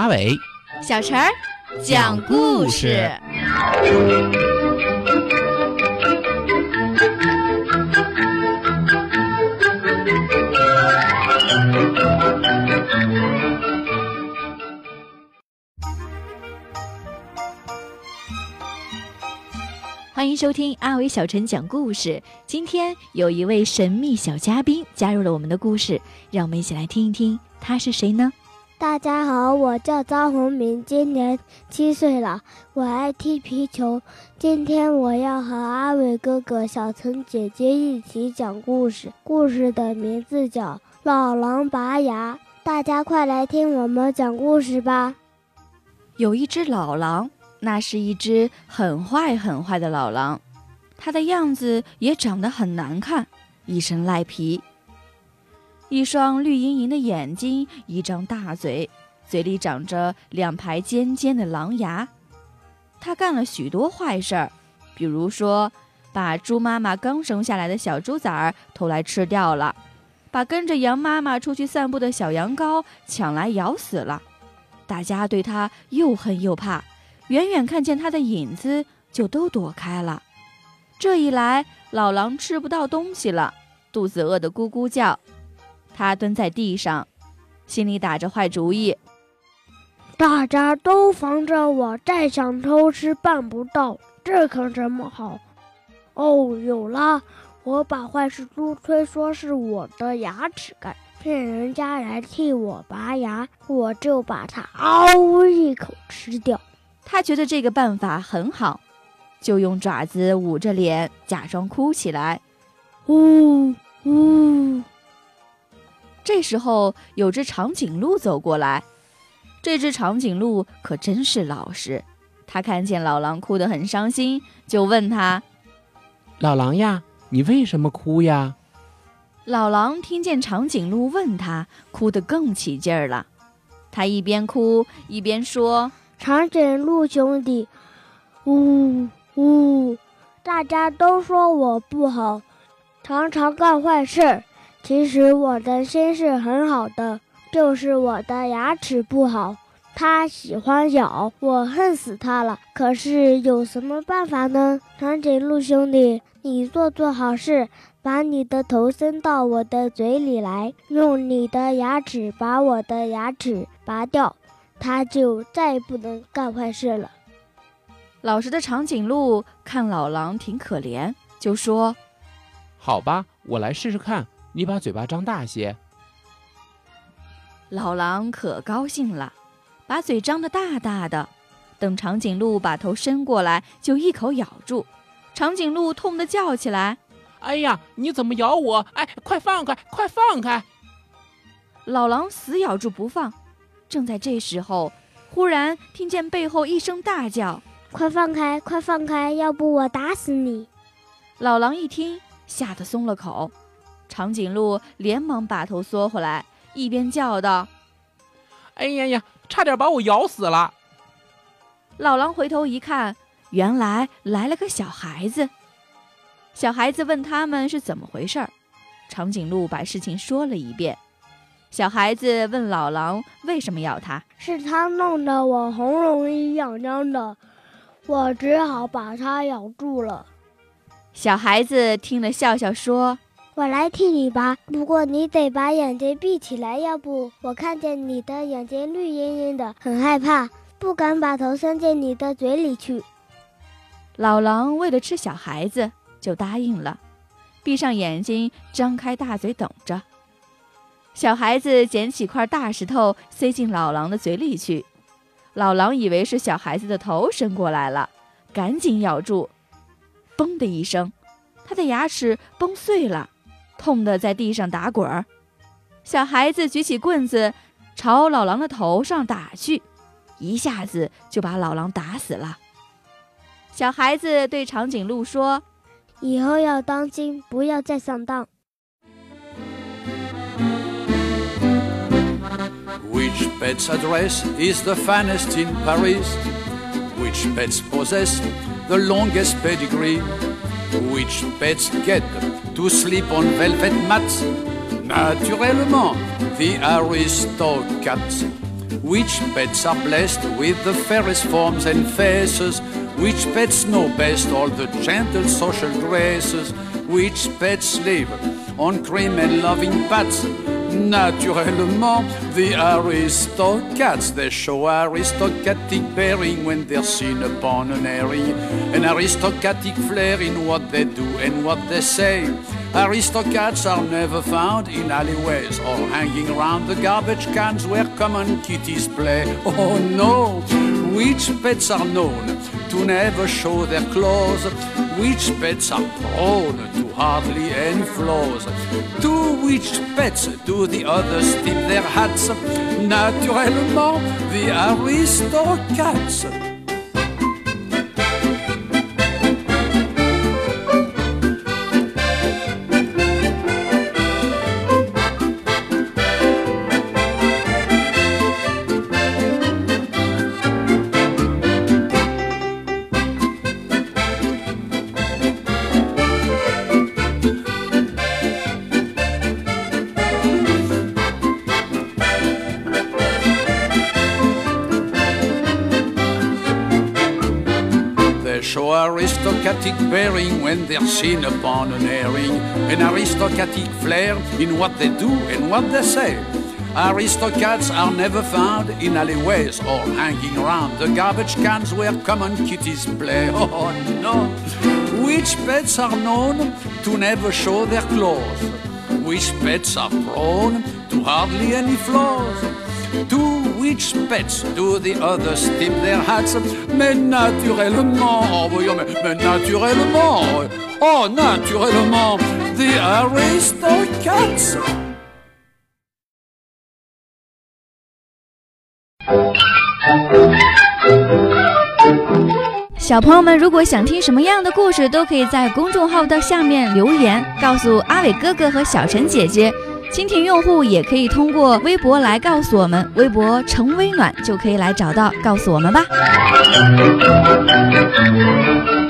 阿伟、 小陈儿讲故事。欢迎收听阿伟小陈讲故事。今天有一位神秘小嘉宾加入了我们的故事，让我们一起来听一听他是谁呢？ 大家好，我叫张宏明，今年7岁了，我爱踢皮球。今天我要和阿伟哥哥、小陈姐姐一起讲故事，故事的名字叫《老狼拔牙》。大家快来听我们讲故事吧。 有一只老狼，那是一只很坏的老狼，它的样子也长得很难看，一身赖皮，一双绿莹莹的眼睛，一张大嘴，嘴里长着2排尖尖的狼牙。他干了许多坏事儿，比如说把猪妈妈刚生下来的小猪崽儿偷来吃掉了，把跟着羊妈妈出去散步的小羊羔抢来咬死了。大家对他又恨又怕，远远看见他的影子就都躲开了。这一来，老狼吃不到东西了，肚子饿得咕咕叫。他蹲在地上，心里打着坏主意。 大家都防着我，再想偷吃办不到，这可怎么好？哦，有了！我把坏事都推说是我的牙齿干，骗人家来替我拔牙，我就把它嗷一口吃掉。 他觉得这个办法很好，就用爪子捂着脸，假装哭起来。呜呜。这时候有只长颈鹿走过来，这只长颈鹿可真是老实，他看见老狼哭得很伤心，就问他： 老狼呀，你为什么哭呀？ 老狼听见长颈鹿问他，哭得更起劲儿了。他一边哭一边说： 长颈鹿兄弟，呜呜，大家都说我不好，常常干坏事，其实我的心是很好的，就是我的牙齿不好，它喜欢咬，我恨死它了。可是有什么办法呢？长颈鹿兄弟，你做好事，把你的头伸到我的嘴里来，用你的牙齿把我的牙齿拔掉，它就再不能干坏事了。 老实的长颈鹿看老狼挺可怜，就说： 好吧，我来试试看，你把嘴巴张大些。 老狼可高兴了，把嘴张得大大的，等长颈鹿把头伸过来，就一口咬住。长颈鹿痛得叫起来： 哎呀，你怎么咬我？哎，快放开，快放开！ 老狼死咬住不放。正在这时候，忽然听见背后一声大叫： 快放开，快放开，要不我打死你！ 老狼一听，吓得松了口。长颈鹿连忙把头缩回来，一边叫道： 哎呀呀，差点把我咬死了！ 老狼回头一看，原来来了个小孩子。小孩子问他们是怎么回事，长颈鹿把事情说了一遍。小孩子问老狼为什么要他， 是他弄得我喉咙痒痒的，我只好把它咬住了。 小孩子听了笑笑说： 我来替你拔，不过你得把眼睛闭起来，要不我看见你的眼睛绿莹莹的，很害怕，不敢把头伸进你的嘴里去。 老狼为了吃小孩子就答应了，闭上眼睛，张开大嘴等着。小孩子捡起块大石头塞进老狼的嘴里去，老狼以为是小孩子的头伸过来了，赶紧咬住。嘣的一声，他的牙齿崩碎了，痛得在地上打滚儿。小孩子举起棍子朝老狼的头上打去，一下子就把老狼打死了。小孩子对长颈鹿说： 以后要当心，不要再上当。 Which pet's address is the finest in Paris? Which pets possess the longest pedigree? Which pets get to sleep on velvet mats? Naturellement, the Aristocats. Which pets are blessed with the fairest forms and faces? Which pets know best all the gentle social graces? Which pets live on cream and loving pats? Naturellement, the Aristocats. They show aristocratic bearing when they're seen upon an airing, an aristocratic flair in what they do and what they say. Aristocats are never found in alleyways or hanging around the garbage cans where common kitties play. Oh no! Which pets are known to never show their claws? Which pets are prone to hardly any flaws? To which pets do the others tip their hats? Naturellement, the Aristocats. Show aristocratic bearing when they're seen upon an airing, an aristocratic flair in what they do and what they say. Aristocats are never found in alleyways or hanging around the garbage cans where common kitties play. Oh no! Which pets are known to never show their claws? Which pets are prone to hardly any flaws? To which pets do the others tip their hats? Mais naturellement, oh voyons, mais naturellement, oh naturellement, the Aristocats. 小朋友们，如果想听什么样的故事，都可以在公众号的下面留言，告诉阿伟哥哥和小陈姐姐。蜻蜓用户也可以通过微博来告诉我们，微博陈微暖就可以来找到，告诉我们吧。